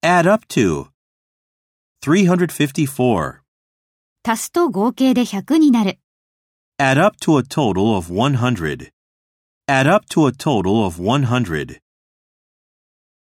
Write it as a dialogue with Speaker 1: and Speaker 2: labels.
Speaker 1: Add up to. 354.
Speaker 2: 足すと合計で100になる。
Speaker 1: Add up to a total of 100. Add up to a total of 100.